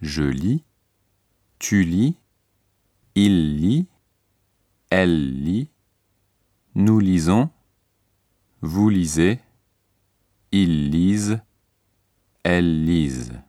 Je lis, tu lis, il lit, elle lit, nous lisons, vous lisez, ils lisent, elles lisent.